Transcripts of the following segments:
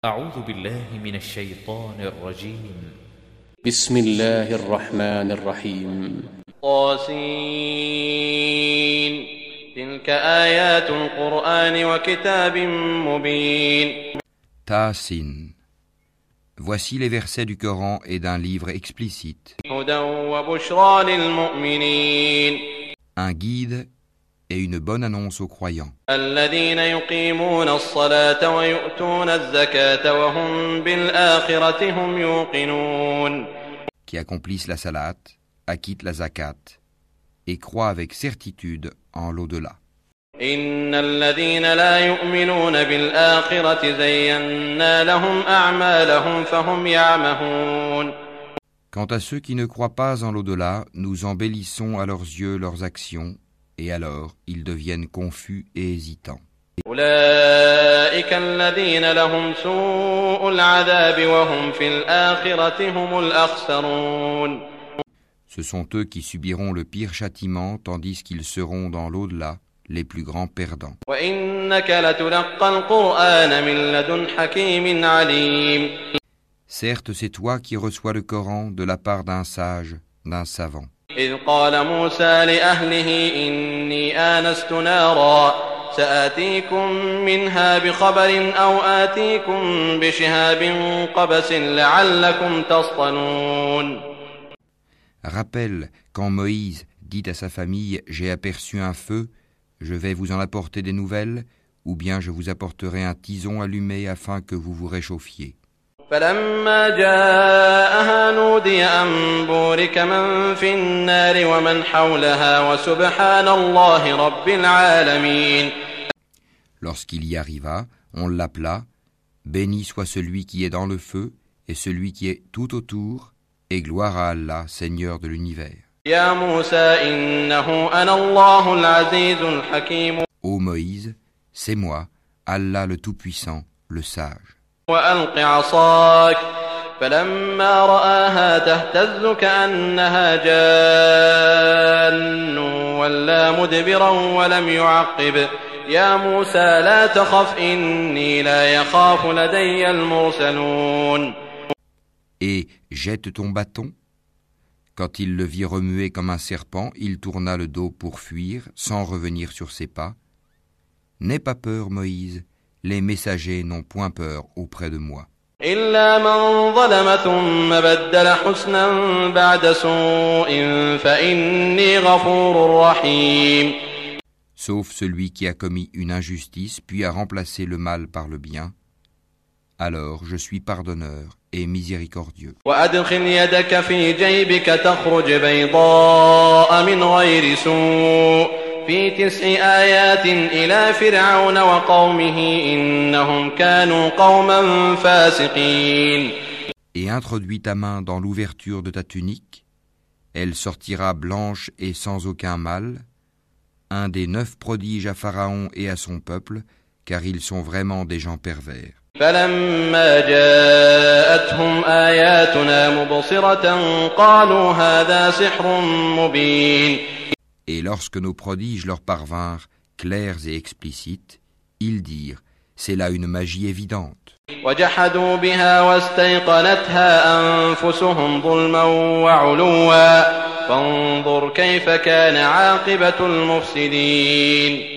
أعوذ بالله من الشيطان الرجيم. بسم الله الرحمن الرحيم. طاسين تلك آيات القرآن وكتاب مبين. Tasin. Voici les versets du Coran et d'un livre explicite. هدى وبشرى للمؤمنين. Un guide et une bonne annonce aux croyants. الذين يقيمون الصلاة ويؤتون الزكاة وهم بالآخرة هم يوقنون. Qui accomplissent la salat, acquittent la zakat et croient avec certitude en l'au-delà. إن الذين لا يؤمنون بالآخرة زينا لهم أعمالهم فهم يعمهون. Quant à ceux qui ne croient pas en l'au-delà, nous embellissons à leurs yeux leurs actions, et alors ils deviennent confus et hésitants. أولئك الذين لهم سوء العذاب وهم في الآخرة هم الأخسرون. Ce sont eux qui subiront le pire châtiment, tandis qu'ils seront dans l'au-delà les plus grands perdants. وإنك لتلقى القرآن من لدن حكيم عليم. Certes, c'est toi qui reçois le Coran de la part d'un sage, d'un savant. إذ قال موسى لأهله إني آنست نارا سآتيكم منها بخبر أو آتيكم بشهاب قبس لعلكم تصطلون. Rappelle quand Moïse dit à sa famille « J'ai aperçu un feu, je vais vous en apporter des nouvelles, ou bien je vous apporterai un tison allumé afin que vous vous réchauffiez. » فلما جاءها نودي أن بورك من في النار ومن حولها وسبحان الله رب العالمين. Lorsqu'il y arriva, on l'appela « Béni soit celui qui est dans le feu et celui qui est tout autour, et gloire à Allah, Seigneur de l'univers. » يا موسى إنه أنا الله العزيز الحكيم. Ô Moïse, c'est moi, Allah le Tout-Puissant, le Sage. وألق عصاك فلما رآها تهتز كأنها جان ولا مدبرا ولم يعقب يا موسى لا تخف إني لا يخاف لدي المرسلون. Et jette ton bâton. Quand il le vit remuer comme un serpent, il tourna le dos pour fuir, sans revenir sur ses pas. N'aie pas peur, Moïse, les messagers n'ont point peur auprès de moi. إلا من ظلم ثم بدل حسنا بعد سوء فإني غفور رحيم. Sauf celui qui a commis une injustice, puis a remplacé le mal par le bien. Alors je suis pardonneur et miséricordieux. وأدخل يدك في جيبك تخرج بيضاء من غير سوء في 9 آيات إلى فرعون وقومه إنهم كانوا قوما فاسقين. Et introduis ta main dans l'ouverture de ta tunique, elle sortira blanche et sans aucun mal, un des 9 prodiges à Pharaon et à son peuple, car ils sont vraiment des gens pervers. فلما جاءتهم آياتنا مبصرة قالوا هذا سحر مبين. Et lorsque nos prodiges leur parvinrent, clairs et explicites, ils dirent « C'est là une magie évidente. » وجحدوا بها واستيقنتها أنفسهم ظلما وعلوا فانظر كيف كان عاقبة المفسدين.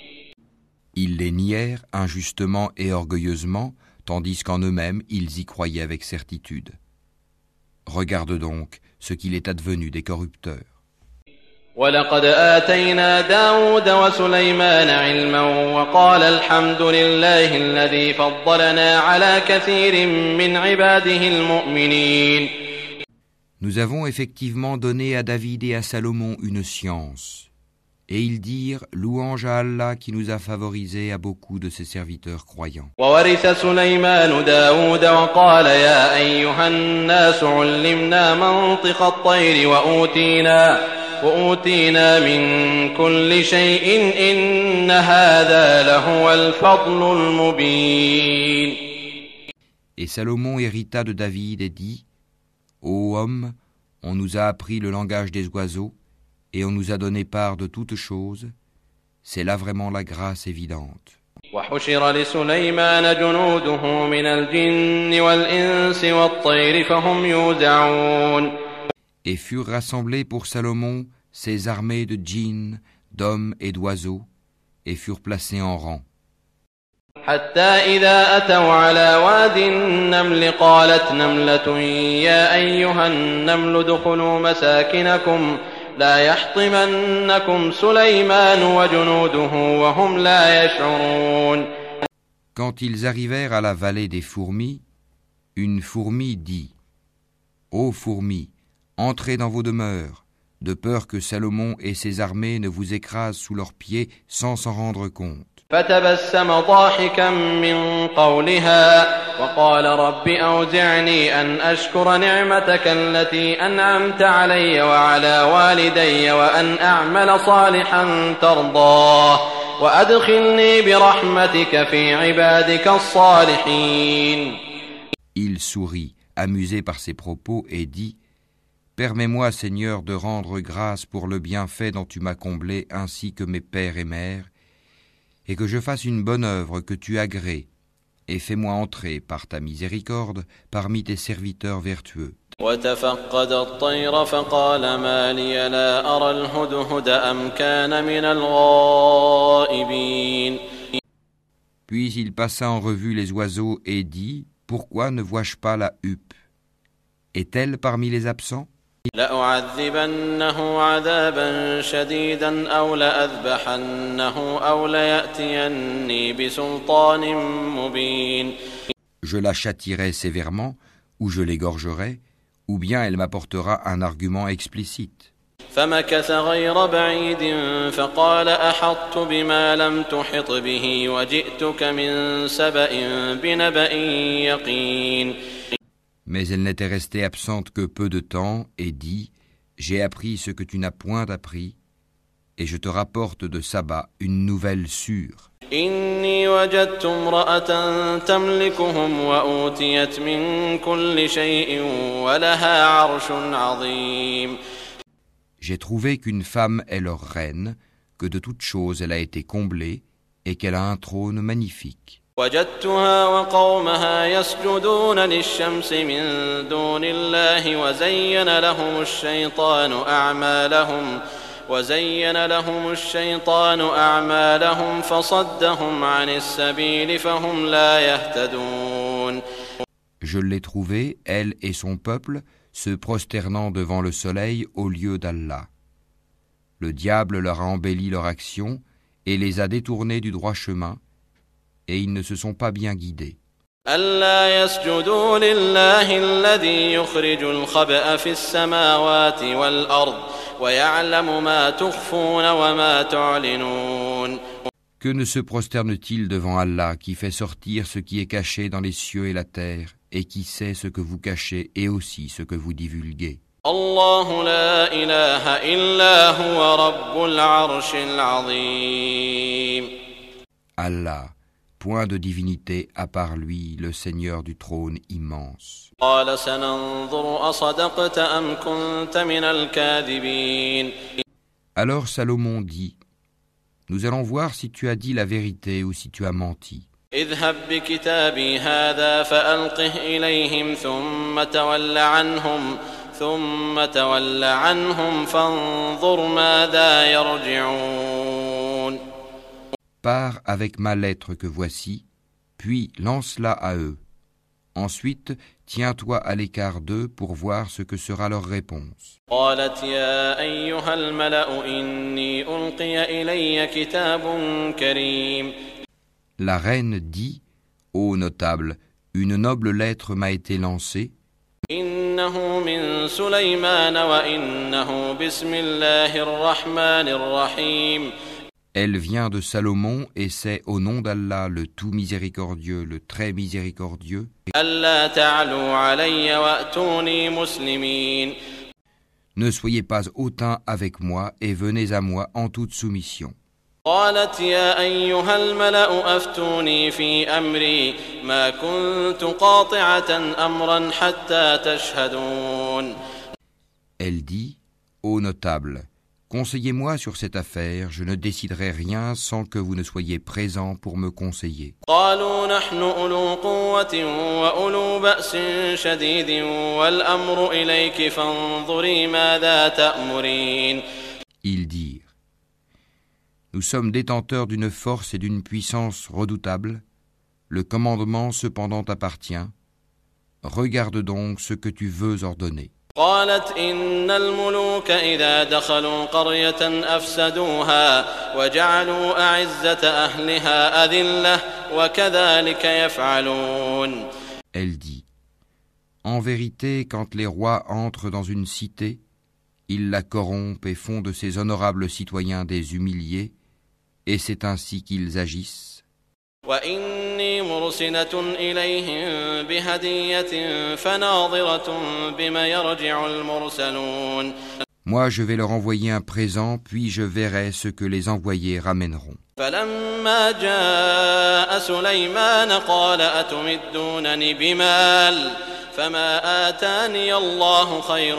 Ils les nièrent injustement et orgueilleusement, tandis qu'en eux-mêmes ils y croyaient avec certitude. Regarde donc ce qu'il est advenu des corrupteurs. ولقد آتينا داود وسليمان علما وقال الحمد لله الذي فضلنا على كثير من عباده المؤمنين. Nous avons effectivement donné à David et à Salomon une science. Et ils dirent « Louange à Allah qui nous a favorisés à beaucoup de ses serviteurs croyants. » وورث سليمان داود وقال يا أيها الناس علمنا منطق الطير وأوتينا من كل شيء إن هذا لهو الفضل المبين. Et Salomon hérita de David et dit « Ô homme, on nous a appris le langage des oiseaux, et on nous a donné part de toutes choses, c'est là vraiment la grâce évidente. وحشر لسليمان جنوده من الجن والإنس والطير فهم يوزعون. Et furent rassemblés pour Salomon ses armées de djinns, d'hommes et d'oiseaux, et furent placés en rang. حتى إذا أتوا على واد النمل قالت نملة يا أيها النمل ادخلوا مساكنكم لا يحطمنكم سليمان وجنوده وهم لا يشعرون. Quand ils arrivèrent à la vallée des fourmis, une fourmi dit : Ô fourmis, entrez dans vos demeures, de peur que Salomon et ses armées ne vous écrasent sous leurs pieds sans s'en rendre compte. فتبسم ضاحكا من قولها وقال رب أوزعني أن أشكر نعمتك التي أنعمت علي وعلى والدي وأن أعمل صالحا ترضاه وأدخلني برحمتك في عبادك الصالحين. Il sourit, amusé par ses propos, et dit : Permets-moi, Seigneur, de rendre grâce pour le bienfait dont tu m'as comblé, ainsi que mes pères et mères, et que je fasse une bonne œuvre que tu agrées, et fais-moi entrer par ta miséricorde parmi tes serviteurs vertueux. وتفقد الطير فقال ما لي لا أرى الهدهد أم كان من الغائبين. Puis il passa en revue les oiseaux et dit : Pourquoi ne vois-je pas la huppe ? Est-elle parmi les absents ? لأعذبنه عذابا شديدا أو لأذبحنه أو ليأتيني بسلطان مبين. Je la châtierai sévèrement, ou je l'égorgerai, ou bien elle m'apportera un argument explicite. فمكث غير بعيد فقال أحطت بما لم تحط به وجئتك من سبأ بنبأ يقين. Mais elle n'était restée absente que peu de temps et dit : J'ai appris ce que tu n'as point appris, et je te rapporte de Saba une nouvelle sûre. إني وجدت امرأة تملكهم وأوتيت من كل شيء ولها عرش عظيم. J'ai trouvé qu'une femme est leur reine, que de toutes choses elle a été comblée, et qu'elle a un trône magnifique. وجدتها وقومها يسجدون للشمس من دون الله وزين لهم الشيطان أعمالهم فصدهم عن السبيل فهم لا يهتدون. Je l'ai trouvée, elle et son peuple, se prosternant devant le soleil au lieu d'Allah. Le diable leur a embelli leur action et les a détournés du droit chemin, et ils ne se sont pas bien guidés. ألا يسجدوا لله الذي يخرج الخبأ في السماوات والأرض ويعلم ما تخفون وما تعلنون. Que ne se prosterne-t-il devant Allah qui fait sortir ce qui est caché dans les cieux et la terre et qui sait ce que vous cachez et aussi ce que vous divulguez? الله لا إله إلا هو رب العرش العظيم. Allah, point de divinité à part lui, le Seigneur du trône immense. قال سننظر أصدقت أم كنت من الكاذبين. Alors Salomon dit : Nous allons voir si tu as dit la vérité ou si tu as menti. اذهب بكتابي هذا فألقه إليهم ثم تول عنهم فانظر ماذا يرجعون. Pars avec ma lettre que voici, puis lance-la à eux. Ensuite, tiens-toi à l'écart d'eux pour voir ce que sera leur réponse. قالت يا أيها الملأ إني ألقي إلي كتاب كريم. La reine dit : Ô notable, une noble lettre m'a été lancée. إنه من سليمان وإنه بسم الله الرحمن الرحيم. Elle vient de Salomon et c'est au nom d'Allah le tout miséricordieux, le très miséricordieux. ألا تعلوا علي وأتوني مسلمين. Ne soyez pas hautains avec moi et venez à moi en toute soumission. قالت يا أيها الملأ أفتوني في أمري ما كنت قاطعة أمرا حتى تشهدون. Elle dit : Ô notable, Conseillez-moi sur cette affaire, je ne déciderai rien sans que vous ne soyez présents pour me conseiller. قالوا نحن أولو قوة وأولو بأس شديد والأمر إليك فانظري ماذا تأمرين. Ils dirent, nous sommes détenteurs d'une force et d'une puissance redoutables, le commandement cependant t'appartient, regarde donc ce que tu veux ordonner. قالت إن الملوك إذا دخلوا قرية أفسدوها وجعلوا أعزة أهلها أذلة وكذلك يفعلون. Elle dit, en vérité, quand les rois entrent dans une cité, ils la corrompent et font de ses honorables citoyens des humiliés, et c'est ainsi qu'ils agissent. وإني مرسلة إليهم بهدية فناظرة بما يرجع المرسلون. Moi, je vais leur envoyer un présent, puis je verrai ce que les envoyés ramèneront. فلما جاء سليمان قال أتمدونني بمال فما آتاني الله خير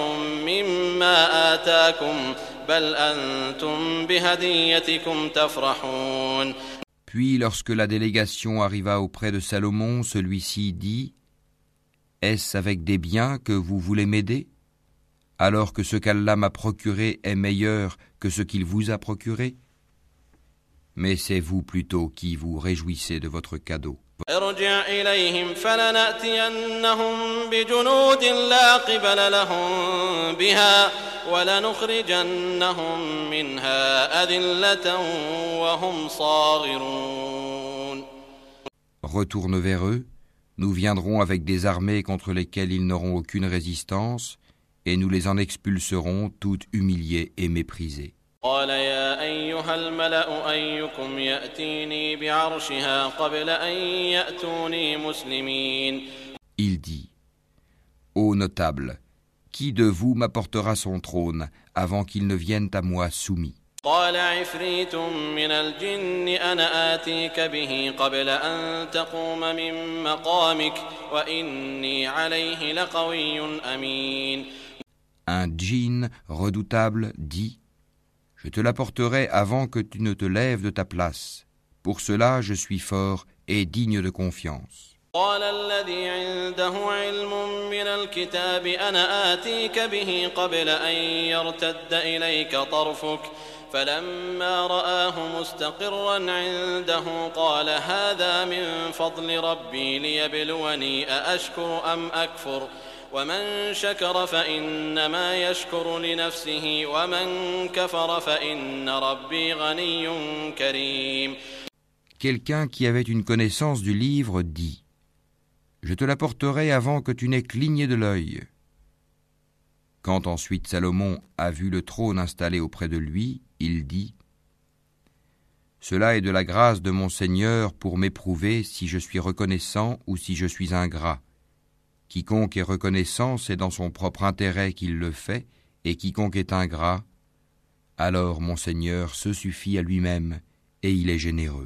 مما آتاكم بل أنتم بهديتكم تفرحون. Puis, lorsque la délégation arriva auprès de Salomon, celui-ci dit « Est-ce avec des biens que vous voulez m'aider, alors que ce qu'Allah m'a procuré est meilleur que ce qu'il vous a procuré ? Mais c'est vous plutôt qui vous réjouissez de votre cadeau. » ارجع إليهم فلنأتينهم بجنود لا قبل لهم بها ولنخرجنهم منها أذلة وهم صاغرون. Retourne vers eux, nous viendrons avec des armées contre lesquelles ils n'auront aucune résistance, et nous les en expulserons toutes humiliées et méprisées. قال يا أيها الملأ أيكم يأتيني بعرشها قبل أن يأتوني مسلمين. Il dit, ô notable, qui de vous m'apportera son trône avant qu'il ne vienne à moi soumis? قال عفريت من الجن أنا آتيك به قبل أن تقوم من مقامك وإني عليه لقوي أمين. Un djinn redoutable dit, je te l'apporterai avant que tu ne te lèves de ta place. Pour cela, je suis fort et digne de confiance. قال الذي عنده علم من الكتاب أنا آتيك به قبل أن يرتد إليك طرفك فلما رآه مستقرا عنده قال هذا من فضل ربي ليبلوني أأشكر أم أكفر ومن شكر فإنما يشكر لنفسه ومن كفر فإن ربي غني كريم. Quelqu'un qui avait une connaissance du livre dit, je te l'apporterai avant que tu n'aies cligné de l'œil. Quand ensuite Salomon a vu le trône installé auprès de lui, il dit, cela est de la grâce de mon Seigneur pour m'éprouver si je suis reconnaissant ou si je suis ingrat. Quiconque est reconnaissant, c'est dans son propre intérêt qu'il le fait, et quiconque est ingrat, alors mon Seigneur se suffit à lui-même, et il est généreux.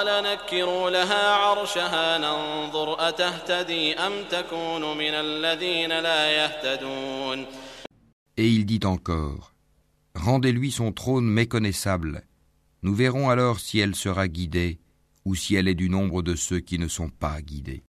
Et il dit encore, rendez-lui son trône méconnaissable, nous verrons alors si elle sera guidée, ou si elle est du nombre de ceux qui ne sont pas guidés.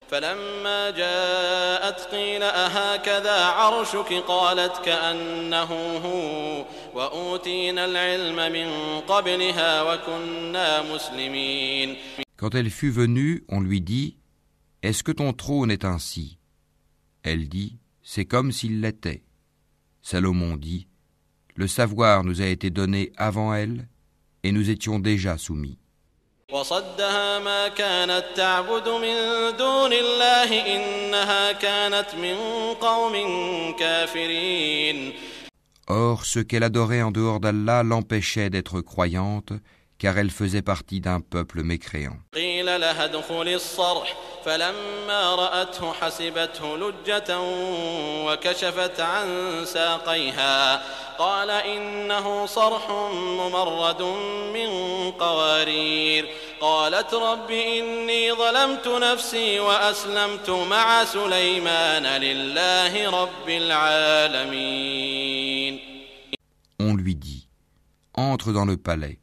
Quand elle fut venue, on lui dit, est-ce que ton trône est ainsi? Elle dit, c'est comme s'il l'était. Salomon dit, le savoir nous a été donné avant elle, et nous étions déjà soumis. وصدها ما كانت تعبد من دون الله إنها كانت من قوم كافرين. Or, ce qu'elle adorait en dehors d'Allah l'empêchait d'être croyante, car elle faisait partie d'un peuple mécréant. قيل لها ادخلي الصرح فلما رأته حسبته لجة وكشفت عن ساقيها قال إنه صرح ممرد من قوارير قالت رب إني ظلمت نفسي وأسلمت مع سليمان لله رب العالمين. On lui dit, entre dans le palais.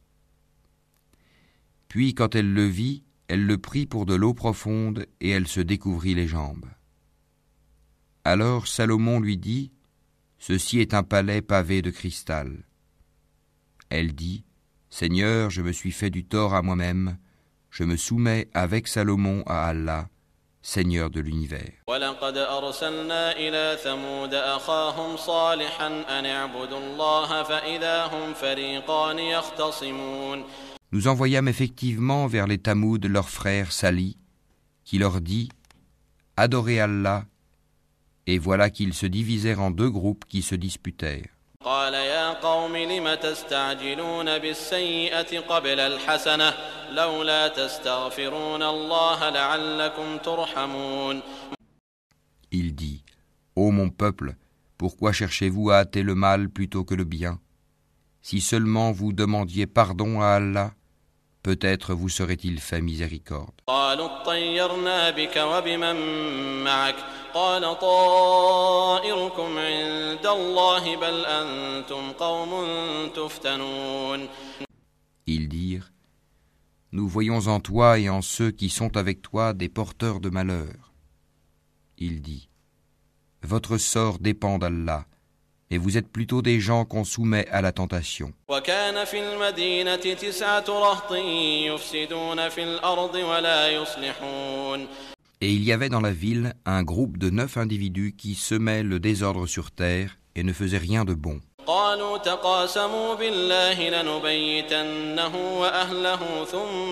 Puis quand elle le vit, elle le prit pour de l'eau profonde et elle se découvrit les jambes. Alors Salomon lui dit, « Ceci est un palais pavé de cristal. » Elle dit, « Seigneur, je me suis fait du tort à moi-même, je me soumets avec Salomon à Allah, Seigneur de l'univers. » وَلَقَدْ أَرْسَلْنَا إِلَى ثَمُودَ أَخَاهُمْ صَالِحًا أَنِ اعْبُدُوا اللَّهَ فَإِذَا هُمْ فَرِيقَانِ يَخْتَصِمُونَ. Nous envoyâmes effectivement vers les Tamoud leur frère Salih, qui leur dit « Adorez Allah », et voilà qu'ils se divisèrent en deux groupes qui se disputèrent. قال يا قوم لم تستعجلون بالسيئة قبل الحسنة لولا تستغفرون الله لعلكم ترحمون. Il dit, ô mon peuple, pourquoi cherchez-vous à hâter le mal plutôt que le bien? Si seulement vous demandiez pardon à Allah, peut-être vous serait-il fait miséricorde. قالوا اطيرنا بك وبمن معك قال طائركم عند الله بل أنتم قوم تفتنون. Ils dirent, nous voyons en toi et en ceux qui sont avec toi des porteurs de malheur. Il dit, votre sort dépend d'Allah, et vous êtes plutôt des gens qu'on soumet à la tentation. وكان في المدينة 9 رهط يفسدون في الأرض ولا يصلحون. Et il y avait dans la ville un groupe de 9 individus qui semaient le désordre sur terre et ne faisaient rien de bon. قالوا تقاسموا بالله لنبيتنه وأهله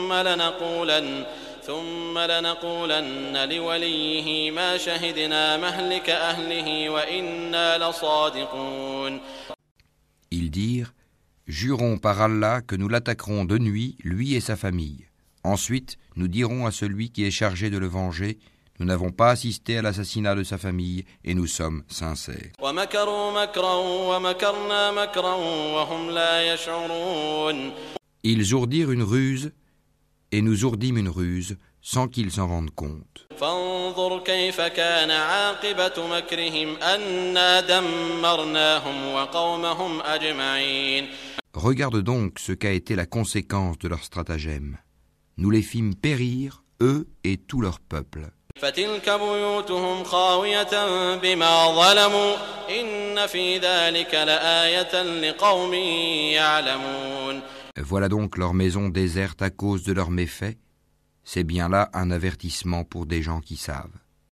ثم لنقولن لوليه ما شهدنا مهلك أهله وإنا لصادقون. Ils dirent, jurons par Allah que nous l'attaquerons de nuit, lui et sa famille. Ensuite, nous dirons à celui qui est chargé de le venger, nous n'avons pas assisté à l'assassinat de sa famille et nous sommes sincères. Ils ourdirent une ruse et nous ourdîmes une ruse sans qu'ils s'en rendent compte. Regarde donc ce qu'a été la conséquence de leur stratagème. Nous les fîmes périr, eux et tout leur peuple. Voilà donc leur maison déserte à cause de leurs méfaits. C'est bien là un avertissement pour des gens qui savent.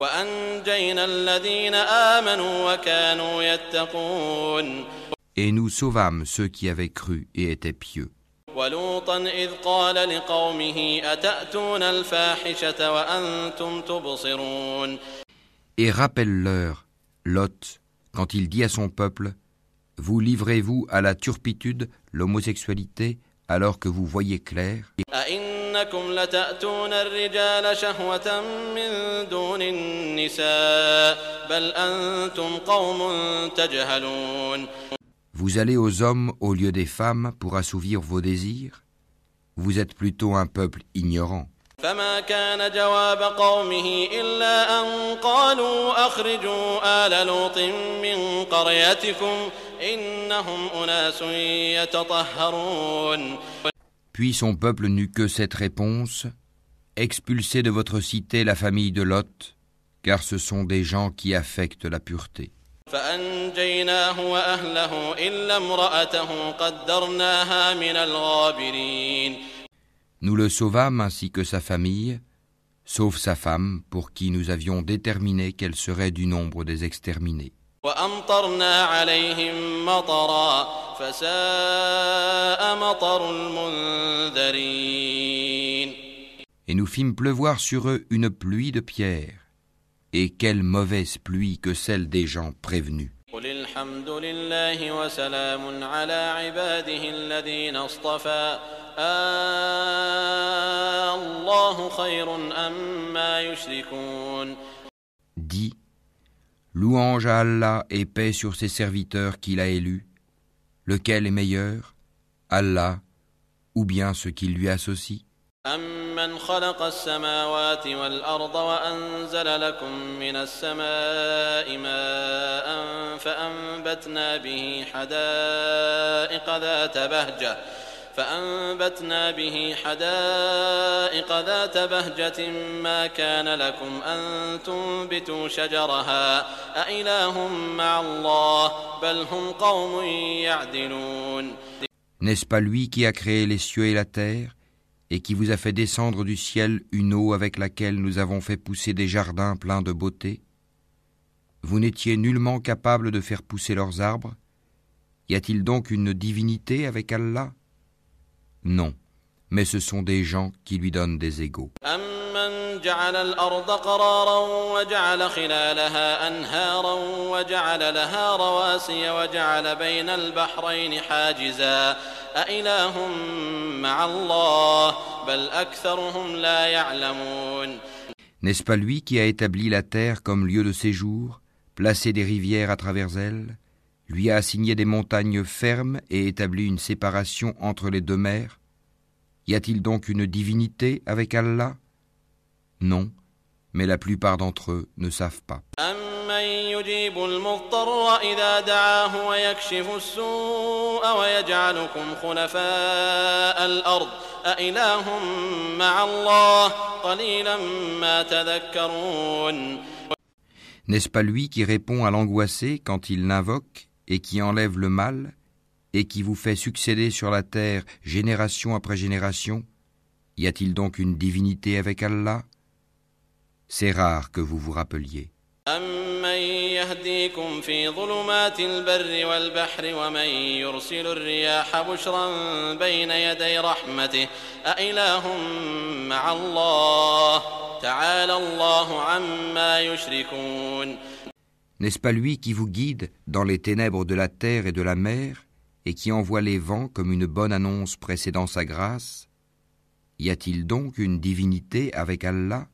Et nous sauvâmes ceux qui avaient cru et étaient pieux. Et rappelle-leur, Lot, quand il dit à son peuple, vous livrez-vous à la turpitude, l'homosexualité, alors que vous voyez clair? Vous allez aux hommes au lieu des femmes pour assouvir vos désirs? Vous êtes plutôt un peuple ignorant. فما كان جواب قومه إلا أن قالوا أخرجوا آل لوط من قريتكم إنهم أناس يتطهرون. Puis son peuple n'eut que cette réponse, expulsez de votre cité la famille de Lot, car ce sont des gens qui affectent la pureté. فأنجيناه وأهله إلا امرأته قدرناها من الغابرين. Nous le sauvâmes ainsi que sa famille, sauf sa femme, pour qui nous avions déterminé qu'elle serait du nombre des exterminés. وأمطرنا عليهم مطرا فساء مطر المنذرين. Et nous fîmes pleuvoir sur eux une pluie de pierres. Et quelle mauvaise pluie que celle des gens prévenus. قل الحمد لله وسلام على عباده الذين اصطفى الله خير أما يشركون. Dis, louange à Allah et paix sur ses serviteurs qu'il a élus. Lequel est meilleur, Allah ou bien ce qu'il lui associe? أَمَّنْ خَلَقَ السَّمَاوَاتِ وَالْأَرْضَ وَأَنزَلَ لَكُم مِّنَ السَّمَاءِ مَاءً فَأَنبَتْنَا به حدائق ذات بهجة ما كان لكم أن تنبتوا شجرها أإله مع الله بل هم قوم يعدلون. N'est-ce pas lui qui a créé les cieux et la terre et qui vous a fait descendre du ciel une eau avec laquelle nous avons fait pousser des jardins pleins de beauté? Vous n'étiez nullement capable de faire pousser leurs arbres? Y a-t-il donc une divinité avec Allah? Non, mais ce sont des gens qui lui donnent des égaux. أَمَّنْ جَعَلَ الْأَرْضَ قَرَارًا وَجَعَلَ خِلَالَهَا أَنْهَارًا وَجَعَلَ لَهَا رَوَاسِيَ وَجَعَلَ بَيْنَ الْبَحْرَيْنِ حَاجِزًا أَإِلَٰهٌ مَّعَ اللَّهِ بَلْ أَكْثَرُهُمْ لَا يَعْلَمُونَ. N'est-ce pas lui qui a établi la terre comme lieu de séjour, placé des rivières à travers elle, lui a assigné des montagnes fermes et établi une séparation entre les deux mers? Y a-t-il donc une divinité avec Allah? Non, mais la plupart d'entre eux ne savent pas. أَمَّن يُجِيبُ الْمُضْطَرَّ إِذَا دَعَاهُ وَيَكْشِفُ السُّوءَ وَيَجْعَلُكُمْ خُلَفَاءَ الْأَرْضِ أَإِلَٰهٌ مَّعَ اللَّهِ قَلِيلًا مَّا تَذَكَّرُونَ. N'est-ce pas lui qui répond à l'angoissé quand il l'invoque et qui enlève le mal et qui vous fait succéder sur la terre génération après génération? Y a-t-il donc une divinité avec Allah? C'est rare que vous vous rappeliez. أَمَّن يَهْدِيكُمْ فِي ظُلُمَاتِ الْبَرِّ وَالْبَحْرِ وَمَن يُرْسِلُ الرِّيَاحَ بُشْرًا بَيْنَ يَدَيْ رَحْمَتِهِ أَإِلَٰهٌ مَّعَ اللَّهِ تَعَالَى اللَّهُ عَمَّا يُشْرِكُونَ. N'est-ce pas lui qui vous guide dans les ténèbres de la terre et de la mer et qui envoie les vents comme une bonne annonce précédant sa grâce? Y a-t-il donc une divinité avec Allah?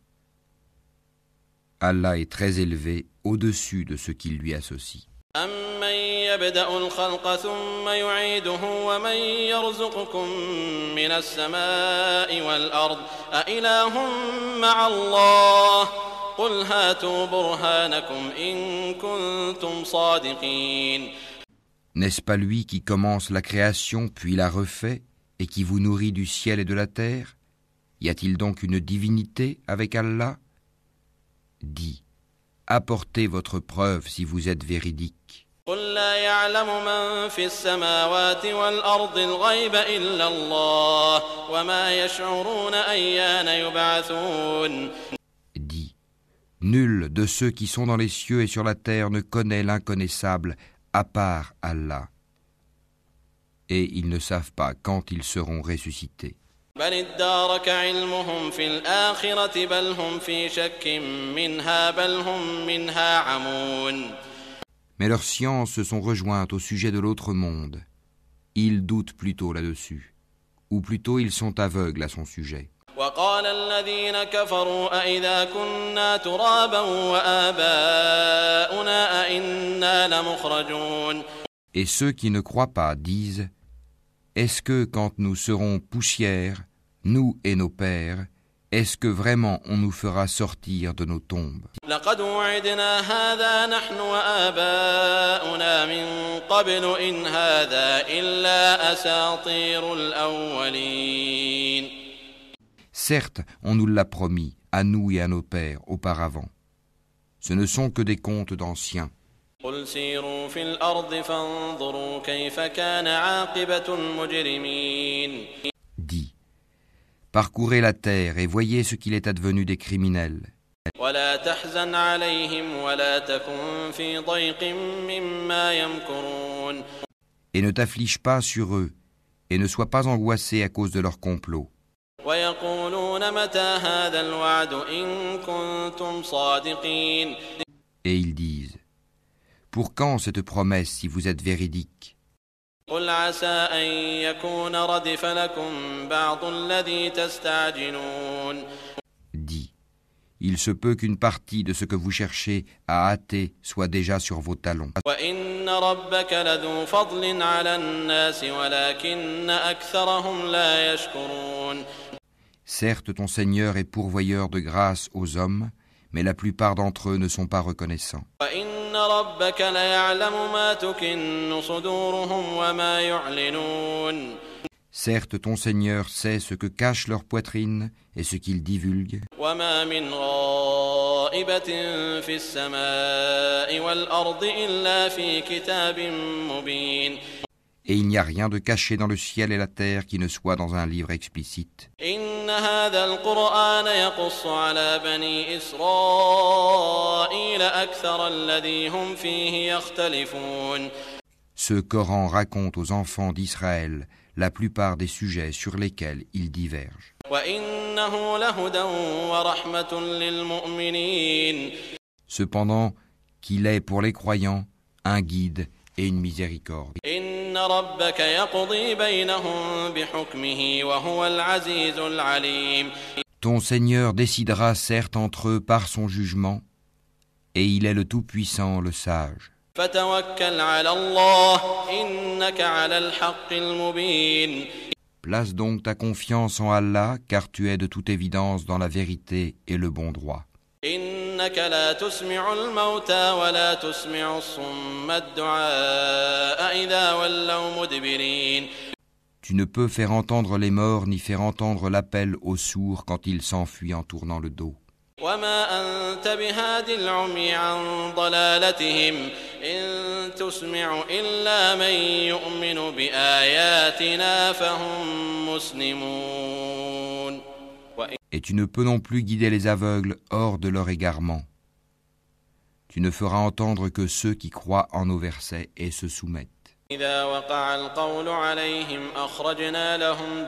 Allah est très élevé au-dessus de ce qu'il lui associe. أَمَّن يَبْدَأُ الْخَلْقَ ثُمَّ يُعِيدُهُ وَمَن يَرْزُقُكُم مِّنَ السَّمَاءِ وَالْأَرْضِ أَإِلَٰهٌ مَّعَ اللَّهِ قُلْ هَاتُوا بُرْهَانَكُمْ إِن كُنتُمْ صَادِقِينَ. N'est-ce pas lui qui commence la création puis la refait et qui vous nourrit du ciel et de la terre? Y a-t-il donc une divinité avec Allah? Dis, apportez votre preuve si vous êtes véridique. قُل لَّا يَعْلَمُ مَن فِي السَّمَاوَاتِ وَالْأَرْضِ الْغَيْبَ إِلَّا اللَّهُ وَمَا يَشْعُرُونَ أَيَّانَ يُبْعَثُونَ. Dis, nul de ceux qui sont dans les cieux et sur la terre ne connaît l'inconnaissable à part Allah. Et ils ne savent pas quand ils seront ressuscités. بل ادارك علمهم في الآخرة بل هم في شك منها بل هم منها عمون. Mais leurs sciences se sont rejointes au sujet de l'autre monde. Ils doutent plutôt là-dessus. Ou plutôt ils sont aveugles à son sujet. وقال الذين كفروا أإذا كنا ترابا وآباؤنا أإنا لمخرجون. Et ceux qui ne croient pas disent: est-ce que quand nous serons poussière, nous et nos pères, est-ce que vraiment on nous fera sortir de nos tombes? لقد وعدنا هذا نحن وآباؤنا من قبل إن هذا إلا أساطير الأولين. Certes, on nous l'a promis, à nous et à nos pères, auparavant. Ce ne sont que des contes d'anciens. قل سيروا في الأرض فانظروا كيف كان عاقبة المجرمين. Dis, parcourez la terre et voyez ce qu'il est advenu des criminels. ولا تحزن عليهم ولا تكن في ضيق مما يمكرون. Et ne t'afflige pas sur eux, et ne sois pas angoissé à cause de leur complot. ويقولون متى هذا الوعد إن كنتم صادقين. Et ils disent: pour quand cette promesse si vous êtes véridique? قل عسى أن يكون ردف لكم بعض الذي تستعجلون. Dis, il se peut qu'une partie de ce que vous cherchez à hâter soit déjà sur vos talons. وإن ربك لذو فضل على الناس ولكن أكثرهم لا يشكرون. Certes, ton Seigneur est pourvoyeur de grâce aux hommes, mais la plupart d'entre eux ne sont pas reconnaissants. وإن ربك ليعلم ما تكن صدورهم وما يعلنون. Certes, ton Seigneur sait ce que cache leur poitrine et ce qu'ils divulguent. وما من غائبة في السماء والأرض إلا في كتاب مبين. Et il n'y a rien de caché dans le ciel et la terre qui ne soit dans un livre explicite. إن هذا القرآن يقص على بني إسرائيل أكثر الذي هم فيه يختلفون. Ce Coran raconte aux enfants d'Israël la plupart des sujets sur lesquels ils divergent. وإنه لهدى ورحمة للمؤمنين. Cependant, qu'il est pour les croyants un guide et une miséricorde. إن ربك يقضي بينهم بحكمه وهو العزيز العليم. Ton Seigneur décidera certes entre eux par son jugement, et il est le Tout-Puissant, le Sage. فتوكل على الله إنك على الحق المبين. Place donc ta confiance en Allah, car tu es de toute évidence dans la vérité et le bon droit. إنك لا تسمع الموتى ولا تسمع الصم الدعاء إذا ولوا مدبرين. Tu ne peux faire entendre les morts ni faire entendre l'appel aux sourds quand ils s'enfuient en tournant le dos. وما أنت بهاد العمي عن ضلالتهم إن تسمع إلا من يؤمن بآياتنا فهم مسلمون. Et tu ne peux non plus guider les aveugles hors de leur égarement. Tu ne feras entendre que ceux qui croient en nos versets et se soumettent. إذا وقع القول عليهم أخرجنا لهم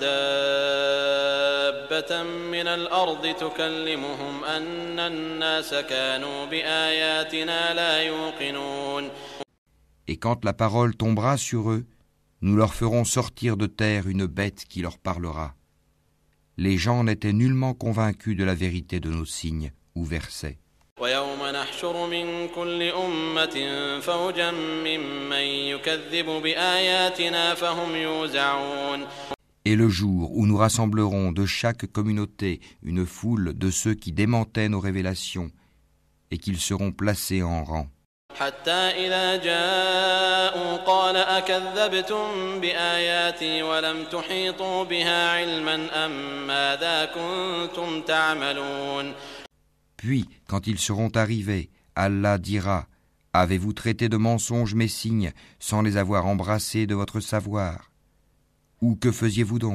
دابة من الأرض تكلمهم أن الناس كانوا بآياتنا لا يوقنون. Et quand la parole tombera sur eux, nous leur ferons sortir de terre une bête qui leur parlera. Les gens n'étaient nullement convaincus de la vérité de nos signes ou versets. ويوم نحشر من كل أمة فوجا ممن يكذب بآياتنا فهم يوزعون. Et le jour où nous rassemblerons de chaque communauté une foule de ceux qui démentaient nos révélations et qu'ils seront placés en rang. حتى إذا جاءوا قال أكذبتم بآياتي ولم تحيطوا بها علما أم ماذا كنتم تعملون. Puis, quand ils seront arrivés, Allah dira : Avez-vous traité de mensonges mes signes sans les avoir embrassés de votre savoir ? Ou que faisiez-vous donc ?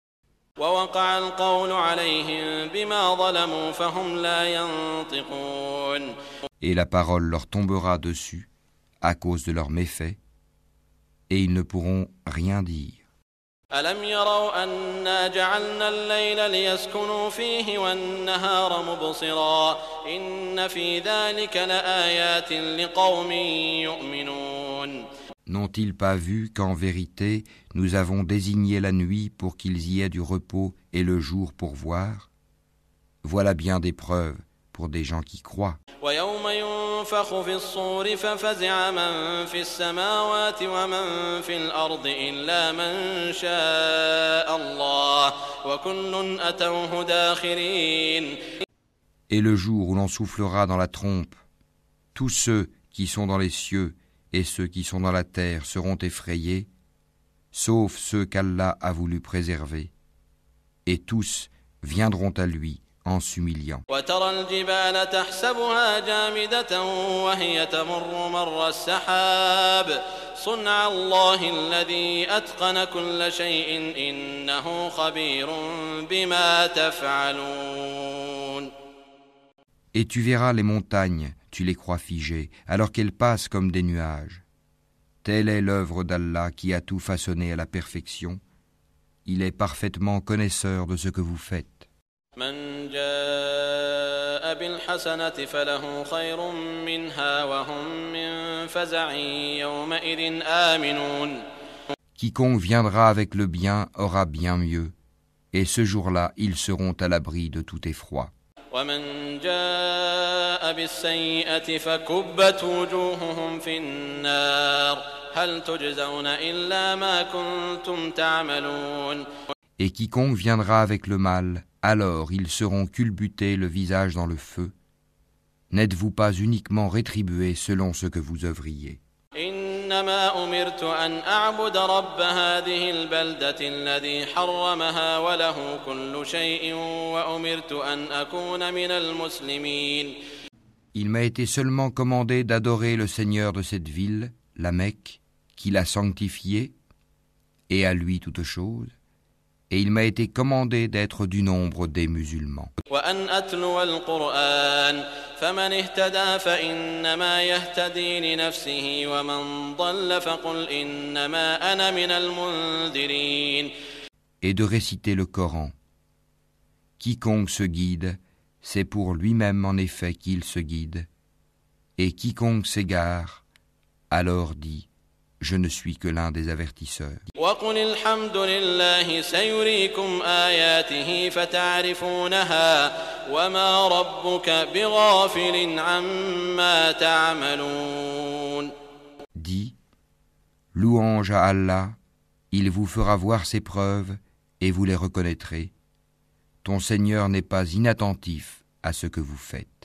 ووقع القول عليهم بما ظلموا فهم لا ينطقون. Et la parole leur tombera dessus à cause de leurs méfaits, et ils ne pourront rien dire. ألم يروا أنا جعلنا الليل ليسكنوا فيه والنهار مبصرا إن في ذلك لآيات لقوم يؤمنون. N'ont-ils pas vu qu'en vérité, nous avons désigné la nuit pour qu'ils y aient du repos et le jour pour voir ? Voilà bien des preuves pour des gens qui croient. ويوم ينفخ في الصور ففزع من في السماوات ومن في الأرض إلا من شاء الله وكل أتوه داخرين. Et le jour où l'on soufflera dans la trompe, tous ceux qui sont dans les cieux et ceux qui sont dans la terre seront effrayés, sauf ceux qu'Allah a voulu préserver, et tous viendront à lui en s'humiliant. وترى الجبال تحسبها جامدة وهي تمر مر السحاب صنع الله الذي أتقن كل شيء إنه خبير بما تفعلون. Et tu verras les montagnes, tu les crois figées, alors qu'elles passent comme des nuages. Telle est l'œuvre d'Allah qui a tout façonné à la perfection. Il est parfaitement connaisseur de ce que vous faites. من جاء بالحسنة فله خير منها وهم من فزع يومئذ آمنون. Quiconque viendra avec le bien aura bien mieux, et ce jour-là, ils seront à l'abri de tout effroi. ومن جاء بالسيئة فكبت وجوههم في النار هل تجزون إلا ما كنتم تعملون. Et quiconque viendra avec le mal, alors ils seront culbutés le visage dans le feu. N'êtes-vous pas uniquement rétribués selon ce que vous œuvriez? إنما أمرت أن أعبد رب هذه البلدة الذي حرمها وله كل شيء وأمرت أن أكون من المسلمين. Il m'a été seulement commandé d'adorer le Seigneur de cette ville, la Mecque, qui l'a sanctifiée, et à lui toute chose, et il m'a été commandé d'être du nombre des musulmans. وأن أتلو القرآن فمن اهتدى فإنما يهتدي لنفسه ومن ضل فقل إنما أنا من المنذرين. Et de réciter le Coran. Quiconque se guide, c'est pour lui-même en effet qu'il se guide, et quiconque s'égare, alors dit, je ne suis que l'un des avertisseurs. وقل الحمد لله سيريكم آياته فتعرفونها وما ربك بغافل عما تعملون. Dis, louange à Allah, il vous fera voir ses preuves et vous les reconnaîtrez. Ton Seigneur n'est pas inattentif à ce que vous faites.